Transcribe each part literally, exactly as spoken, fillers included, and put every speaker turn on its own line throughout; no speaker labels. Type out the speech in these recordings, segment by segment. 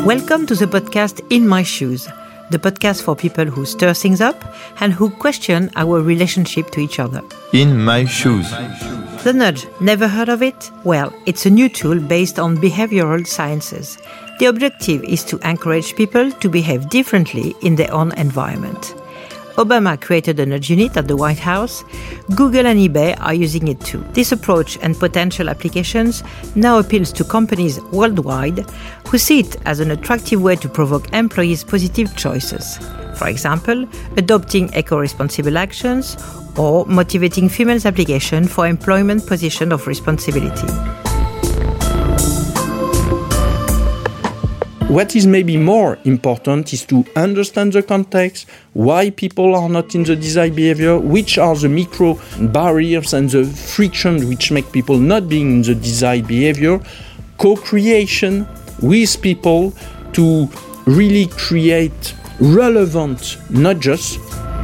Welcome to the podcast In My Shoes, the podcast for people who stir things up and who question our relationship to each other.
In My Shoes.
The nudge, never heard of it? Well, it's a new tool based on behavioral sciences. The objective is to encourage people to behave differently in their own environment. Obama created a nudge unit at the White House. Google and eBay are using it too. This approach and potential applications now appeals to companies worldwide who see it as an attractive way to provoke employees' positive choices. For example, adopting eco-responsible actions or motivating females' application for employment position of responsibility.
What is maybe more important is to understand the context, why people are not in the desired behavior, which are the micro barriers and the friction which make people not being in the desired behavior, co-creation with people to really create relevant nudges.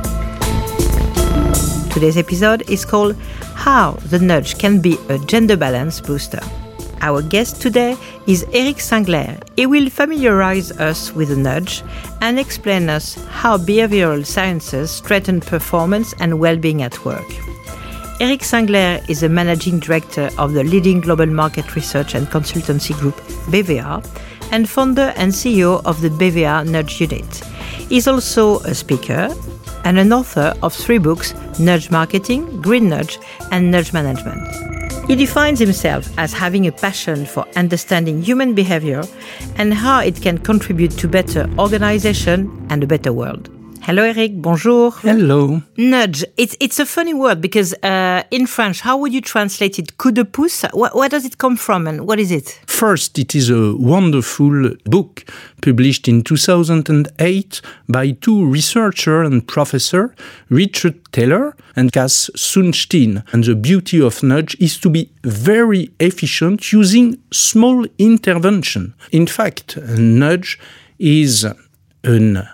Today's episode is called How the Nudge Can Be a Gender Balance Booster. Our guest today is Eric Singler. He will familiarize us with the nudge and explain us how behavioral sciences strengthen performance and well-being at work. Eric Singler is a managing director of the leading global market research and consultancy group B V A and founder and C E O of the B V A Nudge Unit. He's also a speaker and an author of three books, Nudge Marketing, Green Nudge, and Nudge Management. He defines himself as having a passion for understanding human behavior and how it can contribute to better organization and a better world. Hello, Eric. Bonjour.
Hello.
Nudge. It's it's a funny word because uh, in French, how would you translate it? Coup de pouce? Where, where does it come from and what is it?
First, it is a wonderful book published in two thousand eight by two researchers and professors, Richard Taylor and Cass Sunstein. And the beauty of nudge is to be very efficient using small intervention. In fact, a nudge is an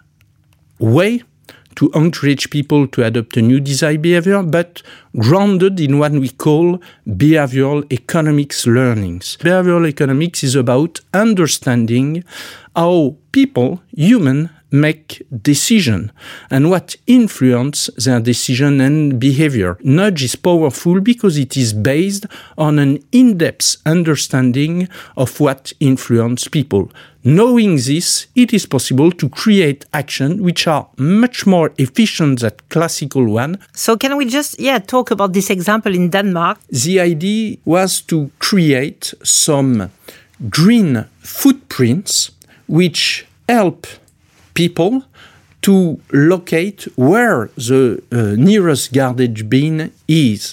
way to encourage people to adopt a new desired behavior, but grounded in what we call behavioral economics learnings. Behavioral economics is about understanding how people, human, make decision and what influence their decision and behavior. Nudge is powerful because it is based on an in-depth understanding of what influence people. Knowing this, it is possible to create action which are much more efficient than classical one.
So can we just yeah talk about this example in Denmark?
The idea was to create some green footprints which help people to locate where the uh, nearest garbage bin is.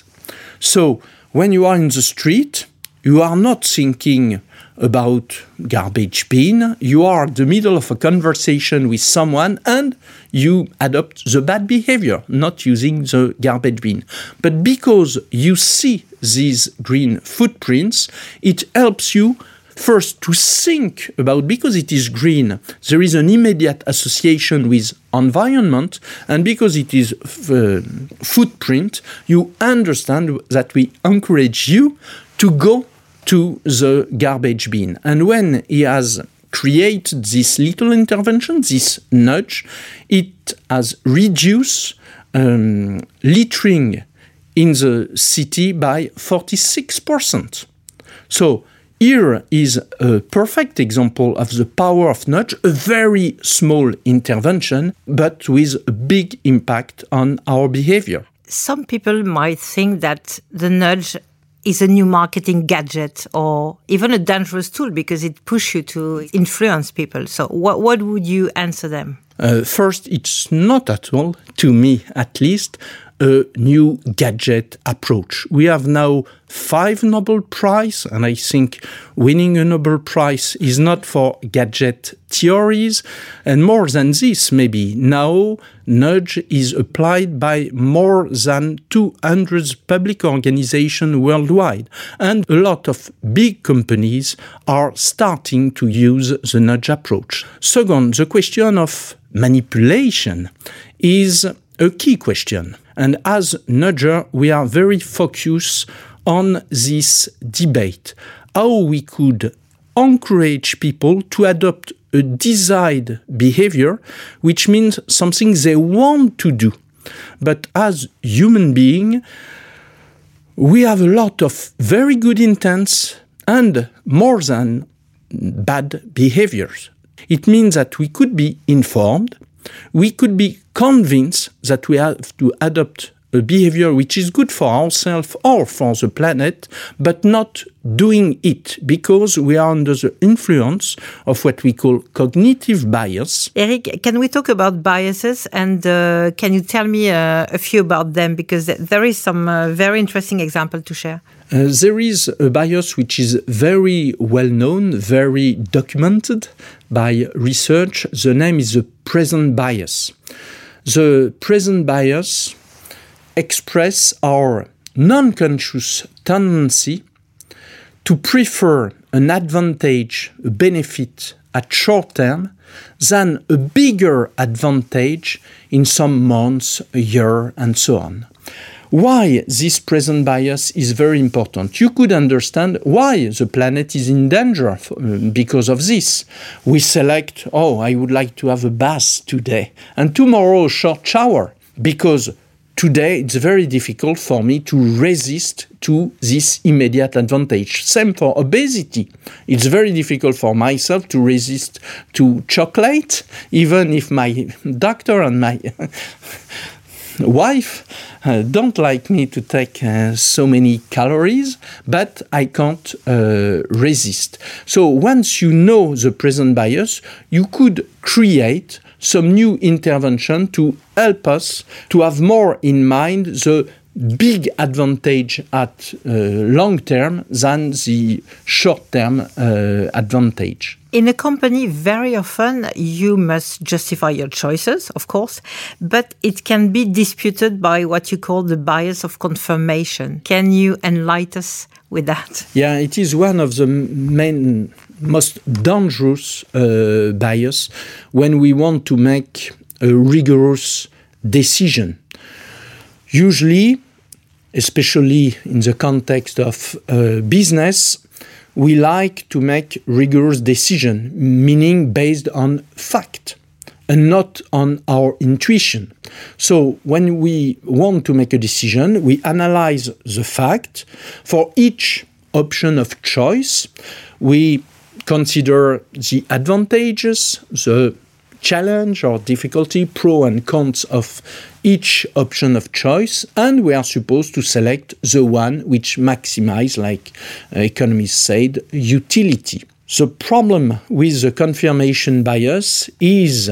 So when you are in the street, you are not thinking about garbage bin, you are in the middle of a conversation with someone and you adopt the bad behavior, not using the garbage bin. But because you see these green footprints, it helps you first to think about, because it is green, there is an immediate association with environment, and because it is uh, footprint, you understand that we encourage you to go to the garbage bin. And when he has created this little intervention, this nudge, it has reduced um, littering in the city by forty-six percent. So here is a perfect example of the power of nudge, a very small intervention, but with a big impact on our behavior.
Some people might think that the nudge is a new marketing gadget or even a dangerous tool because it pushes you to influence people. So what, what would you answer them?
Uh, first, it's not at all, to me at least, a new gadget approach. We have now five Nobel Prizes, and I think winning a Nobel Prize is not for gadget theories. And more than this, maybe now nudge is applied by more than two hundred public organizations worldwide. And a lot of big companies are starting to use the nudge approach. Second, the question of manipulation is a key question. And as nudger, we are very focused on this debate, how we could encourage people to adopt a desired behavior, which means something they want to do. But as human beings, we have a lot of very good intents and more than bad behaviors. It means that we could be informed, we could be convinced that we have to adopt a behavior which is good for ourselves or for the planet, but not doing it because we are under the influence of what we call cognitive bias.
Eric, can we talk about biases, and uh, can you tell me uh, a few about them, because there is some uh, very interesting example to share.
Uh, there is a bias which is very well known, very documented by research. The name is the present bias. The present bias express our non-conscious tendency to prefer an advantage, a benefit at short term than a bigger advantage in some months, a year, and so on. Why this present bias is very important. You could understand why the planet is in danger because of this. We select, oh, I would like to have a bath today, and tomorrow a short shower, because today, it's very difficult for me to resist to this immediate advantage. Same for obesity. It's very difficult for myself to resist to chocolate, even if my doctor and my wife uh, don't like me to take uh, so many calories, but I can't uh, resist. So once you know the present bias, you could create some new intervention to help us to have more in mind the big advantage at uh, long term than the short term uh, advantage.
In a company, very often you must justify your choices, of course, but it can be disputed by what you call the bias of confirmation. Can you enlighten us with that?
Yeah, it is one of the main, most dangerous uh, bias when we want to make a rigorous decision. Usually, especially in the context of uh, business, we like to make rigorous decision, meaning based on fact and not on our intuition. So when we want to make a decision, we analyze the fact. For each option of choice, we consider the advantages, the challenge or difficulty, pro and cons of each option of choice, and we are supposed to select the one which maximizes, like uh, economists said, utility. The problem with the confirmation bias is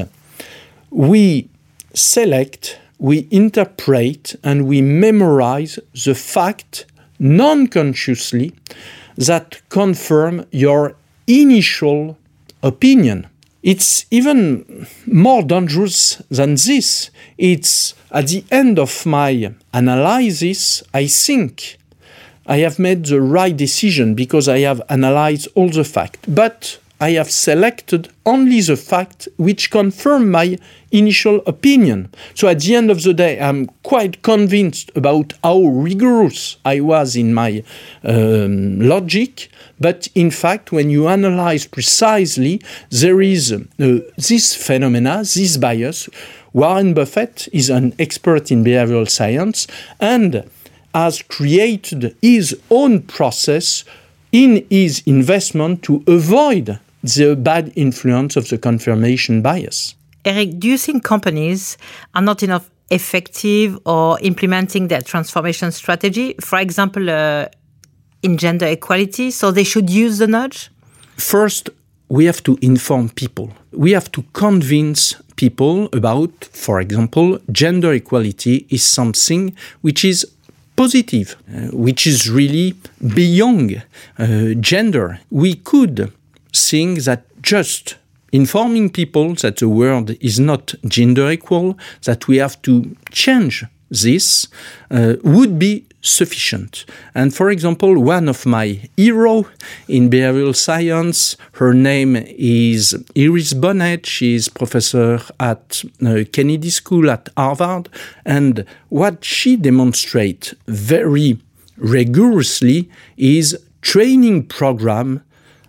we select, we interpret, and we memorize the fact non-consciously that confirm your initial opinion. It's even more dangerous than this. It's at the end of my analysis, I think I have made the right decision because I have analyzed all the facts. But I have selected only the fact which confirm my initial opinion. So at the end of the day, I'm quite convinced about how rigorous I was in my um, logic. But in fact, when you analyze precisely, there is uh, this phenomena, this bias. Warren Buffett is an expert in behavioral science and has created his own process in his investment to avoid the bad influence of the confirmation bias.
Eric, do you think companies are not enough effective or implementing their transformation strategy? For example, uh, in gender equality, so they should use the nudge?
First, we have to inform people. We have to convince people about, for example, gender equality is something which is positive, uh, which is really beyond uh, gender. We could think that just informing people that the world is not gender equal, that we have to change this, uh, would be sufficient. And for example, one of my heroes in behavioral science, her name is Iris Bonet. She is professor at uh, Kennedy School at Harvard. And what she demonstrates very rigorously is training program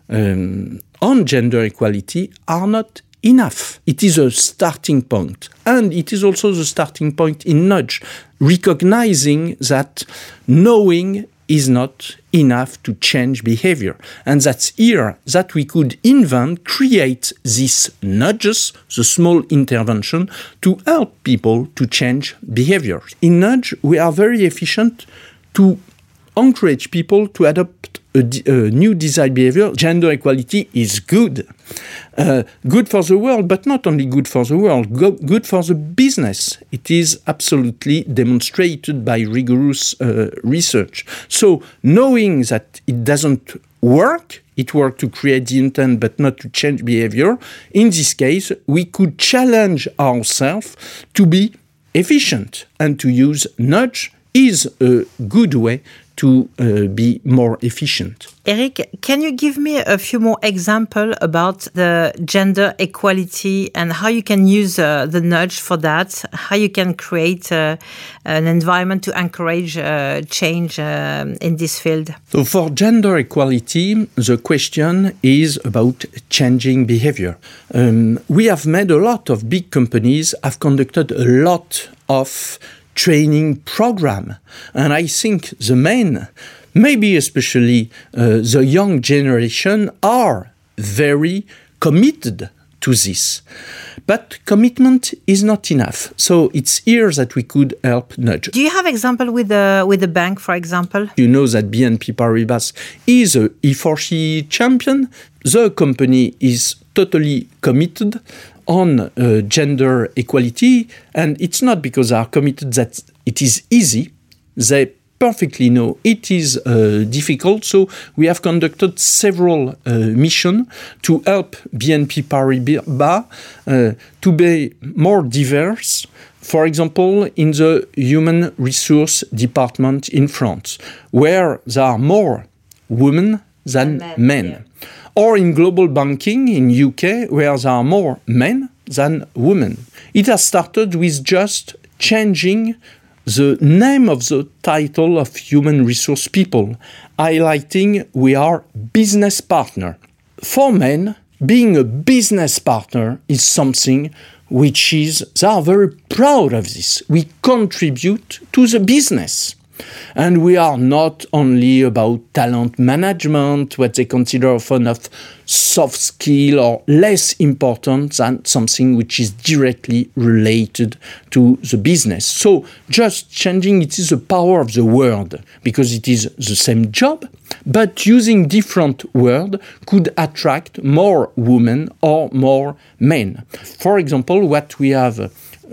um, on gender equality are not enough. It is a starting point. And it is also the starting point in Nudge, recognizing that knowing is not enough to change behavior. And that's here that we could invent, create these nudges, the small intervention, to help people to change behavior. In Nudge, we are very efficient to encourage people to adopt a, a new desired behavior. Gender equality is good. Uh, good for the world, but not only good for the world, go, good for the business. It is absolutely demonstrated by rigorous uh, research. So knowing that it doesn't work, it worked to create the intent but not to change behavior, in this case, we could challenge ourselves to be efficient, and to use nudge is a good way to uh, be more efficient.
Eric, can you give me a few more examples about the gender equality and how you can use uh, the nudge for that, how you can create uh, an environment to encourage uh, change uh, in this field?
So for gender equality, the question is about changing behavior. Um, we have made a lot of big companies have conducted a lot of training program. And I think the men, maybe especially uh, the young generation, are very committed to this. But commitment is not enough. So it's here that we could help nudge.
Do you have example with the with the bank, for example?
You know that B N P Paribas is a E four C champion. The company is totally committed on uh, gender equality, and it's not because they are committed that it is easy. They perfectly know it is uh, difficult, so we have conducted several uh, missions to help B N P Paribas uh, to be more diverse. For example, in the human resource department in France, where there are more women than men. men. Yeah. Or in global banking in U K, where there are more men than women. It has started with just changing the name of the title of human resource people, highlighting we are business partner. For men, being a business partner is something which is, they are very proud of this. We contribute to the business. And we are not only about talent management, what they consider often of soft skill or less important than something which is directly related to the business. So just changing, it is the power of the word, because it is the same job, but using different words could attract more women or more men. For example, what we have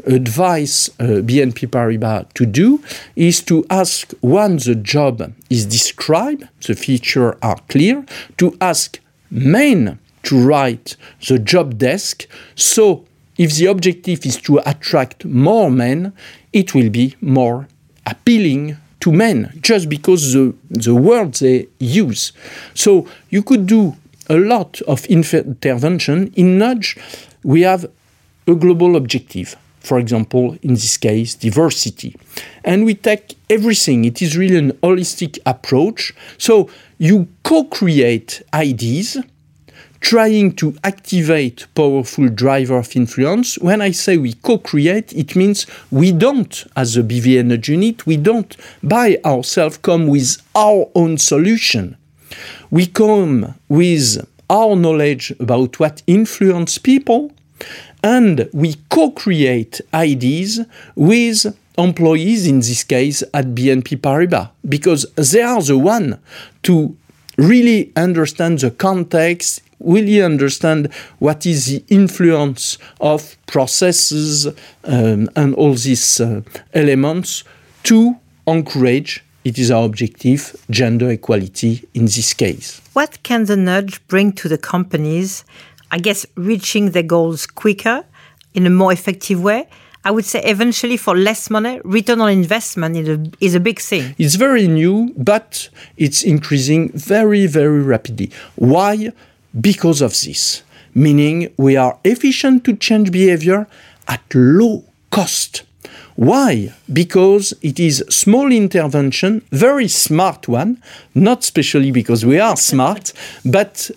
advise uh, B N P Paribas to do is to ask, when the job is described, the features are clear, to ask men to write the job desk. So if the objective is to attract more men, it will be more appealing to men, just because the, the words they use. So you could do a lot of intervention. In Nudge, we have a global objective. For example, in this case, diversity. And we take everything. It is really an holistic approach. So you co-create ideas, trying to activate powerful driver of influence. When I say we co-create, it means we don't, as a B V A Nudge unit, we don't by ourselves come with our own solution. We come with our knowledge about what influences people, and we co-create ideas with employees, in this case at B N P Paribas, because they are the one to really understand the context, really understand what is the influence of processes um, and all these uh, elements to encourage, it is our objective, gender equality in this case.
What can the nudge bring to the companies? I guess reaching their goals quicker, in a more effective way. I would say eventually for less money, return on investment is a, is a big thing.
It's very new, but it's increasing very, very rapidly. Why? Because of this. Meaning we are efficient to change behavior at low cost. Why? Because it is small intervention, very smart one, not especially because we are smart, but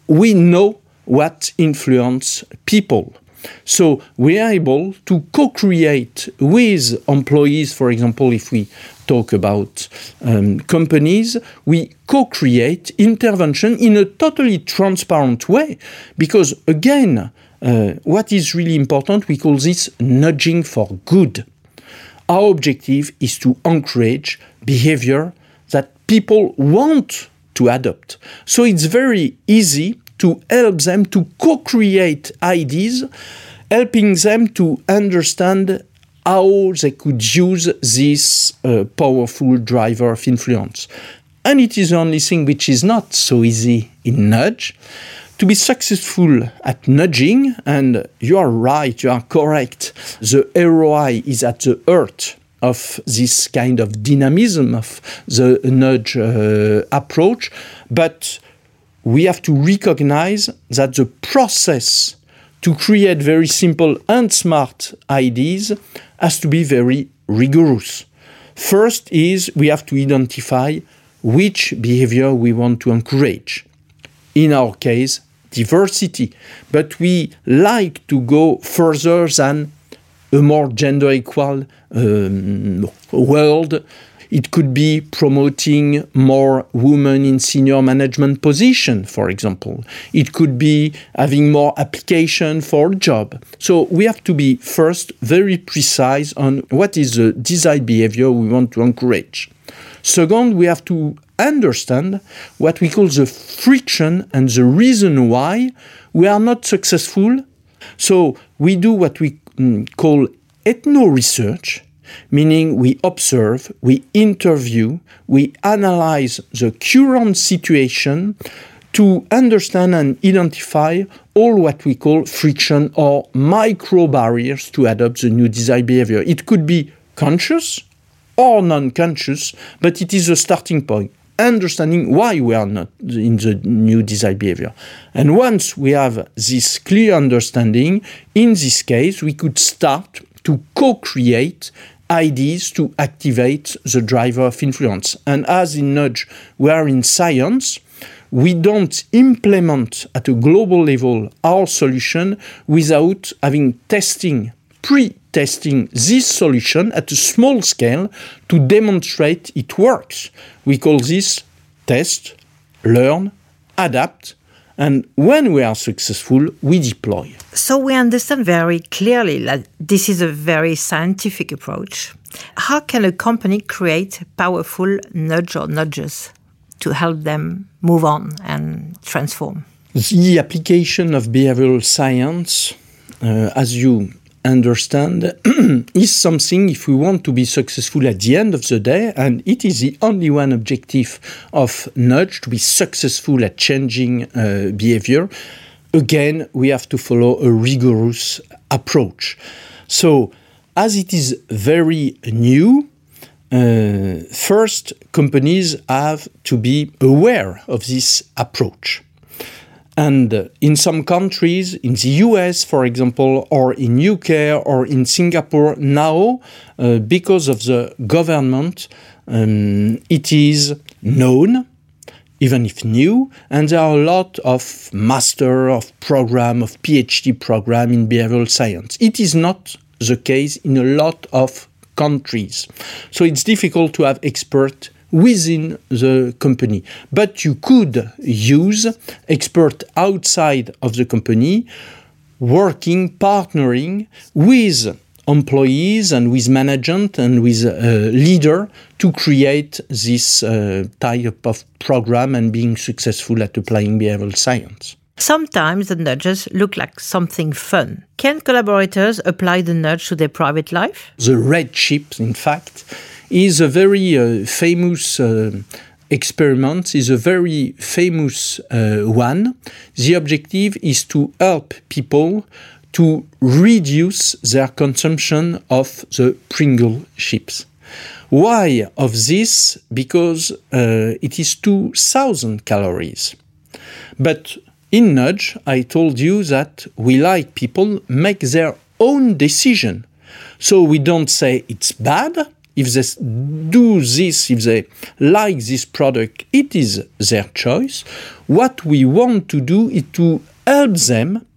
we know what influences people. So we are able to co-create with employees, for example, if we talk about um, companies, we co-create intervention in a totally transparent way. Because again, uh, what is really important, we call this nudging for good. Our objective is to encourage behavior that people want to adopt. So it's very easy to help them to co-create ideas, helping them to understand how they could use this uh, powerful driver of influence. And it is the only thing which is not so easy in nudge. To be successful at nudging, and you are right, you are correct, the R O I is at the heart of this kind of dynamism of the nudge uh, approach, but we have to recognize that the process to create very simple and smart ideas has to be very rigorous. First is we have to identify which behavior we want to encourage. In our case, diversity. But we like to go further than a more gender equal um, world. It could be promoting more women in senior management position, for example. It could be having more application for a job. So we have to be first very precise on what is the desired behavior we want to encourage. Second, we have to understand what we call the friction and the reason why we are not successful. So we do what we mm, call ethno-research, meaning we observe, we interview, we analyze the current situation to understand and identify all what we call friction or micro barriers to adopt the new desired behavior. It could be conscious or non-conscious, but it is a starting point, understanding why we are not in the new desired behavior. And once we have this clear understanding, in this case, we could start to co-create ideas to activate the driver of influence. And as in nudge, we are in science, we don't implement at a global level our solution without having testing, pre-testing this solution at a small scale to demonstrate it works. We call this test, learn, adapt, and when we are successful, we deploy.
So we understand very clearly that this is a very scientific approach. How can a company create powerful nudge or nudges to help them move on and transform?
The application of behavioral science, uh, as you understand, is something if we want to be successful at the end of the day, and it is the only one objective of nudge, to be successful at changing uh, behavior. Again, we have to follow a rigorous approach. So, as it is very new, uh, first, companies have to be aware of this approach. And uh, in some countries, in the U S, for example, or in U K or in Singapore now, uh, because of the government, um, it is known, even if new, and there are a lot of master, of program, of PhD program in behavioral science. It is not the case in a lot of countries. So it's difficult to have experts within the company. But you could use experts outside of the company, working, partnering with employees and with management and with a leader to create this uh, type of program and being successful at applying behavioral science.
Sometimes the nudges look like something fun. Can collaborators apply the nudge to their private life?
The red chip, in fact, is a very uh, famous uh, experiment, is a very famous uh, one. The objective is to help people to reduce their consumption of the Pringle chips. Why of this? Because uh, it is two thousand calories. But in nudge, I told you that we like people make their own decision. So we don't say it's bad, If they do this, if they like this product, it is their choice. What we want to do is to help them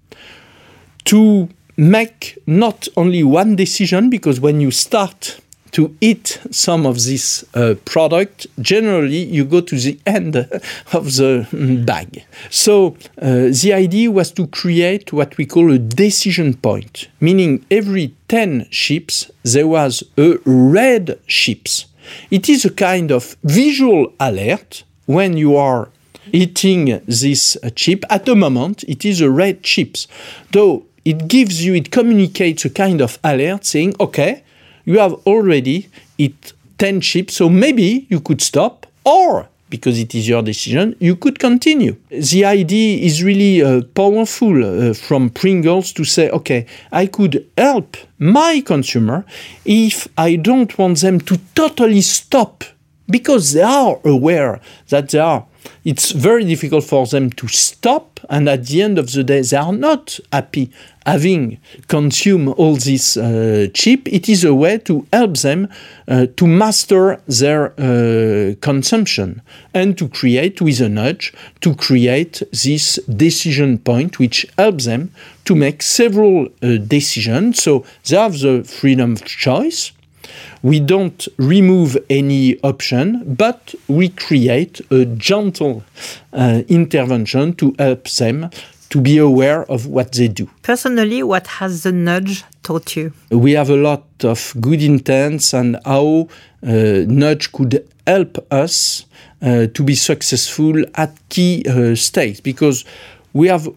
to make not only one decision, because when you start to eat some of this uh, product, generally you go to the end of the bag. So uh, the idea was to create what we call a decision point, meaning every ten chips there was a red chips. It is a kind of visual alert when you are eating this uh, chip. At the moment, it is a red chips. Though it gives you, it communicates a kind of alert saying, okay, you have already eaten ten chips, so maybe you could stop, or, because it is your decision, you could continue. The idea is really uh, powerful uh, from Pringles to say, okay, I could help my consumer if I don't want them to totally stop, because they are aware that they are. It's very difficult for them to stop, and at the end of the day, they are not happy having consumed all this uh, chip. It is a way to help them uh, to master their uh, consumption and to create, with a nudge, to create this decision point which helps them to make several uh, decisions. So they have the freedom of choice. We don't remove any option, but we create a gentle uh, intervention to help them to be aware of what they do.
Personally, what has the nudge taught you?
We have a lot of good intents and how uh, nudge could help us uh, to be successful at key uh, stakes, because we have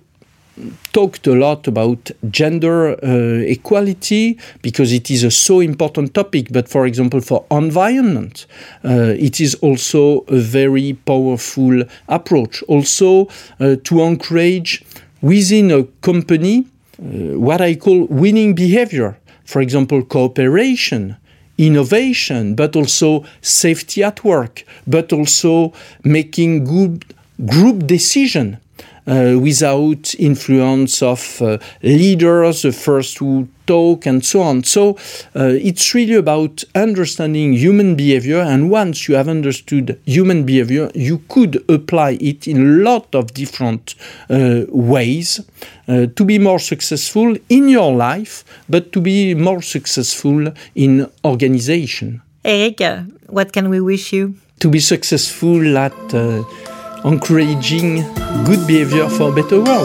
talked a lot about gender uh, equality because it is a so important topic, but for example for environment uh, it is also a very powerful approach. Also uh, to encourage within a company uh, what I call winning behavior, for example cooperation, innovation, but also safety at work, but also making good group decision. Uh, without influence of uh, leaders, the first who talk, and so on. So uh, it's really about understanding human behavior, and once you have understood human behavior, you could apply it in a lot of different uh, ways uh, to be more successful in your life, but to be more successful in organization.
Eric, uh, what can we wish you?
To be successful at uh, encouraging good behavior for a better world.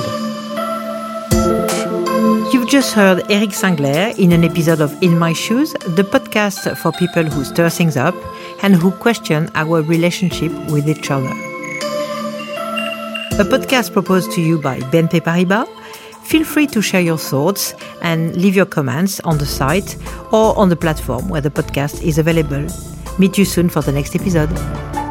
You've just heard Eric Singler in an episode of In My Shoes, the podcast for people who stir things up and who question our relationship with each other. A podcast proposed to you by B N P Paribas. Feel free to share your thoughts and leave your comments on the site or on the platform where the podcast is available. Meet you soon for the next episode.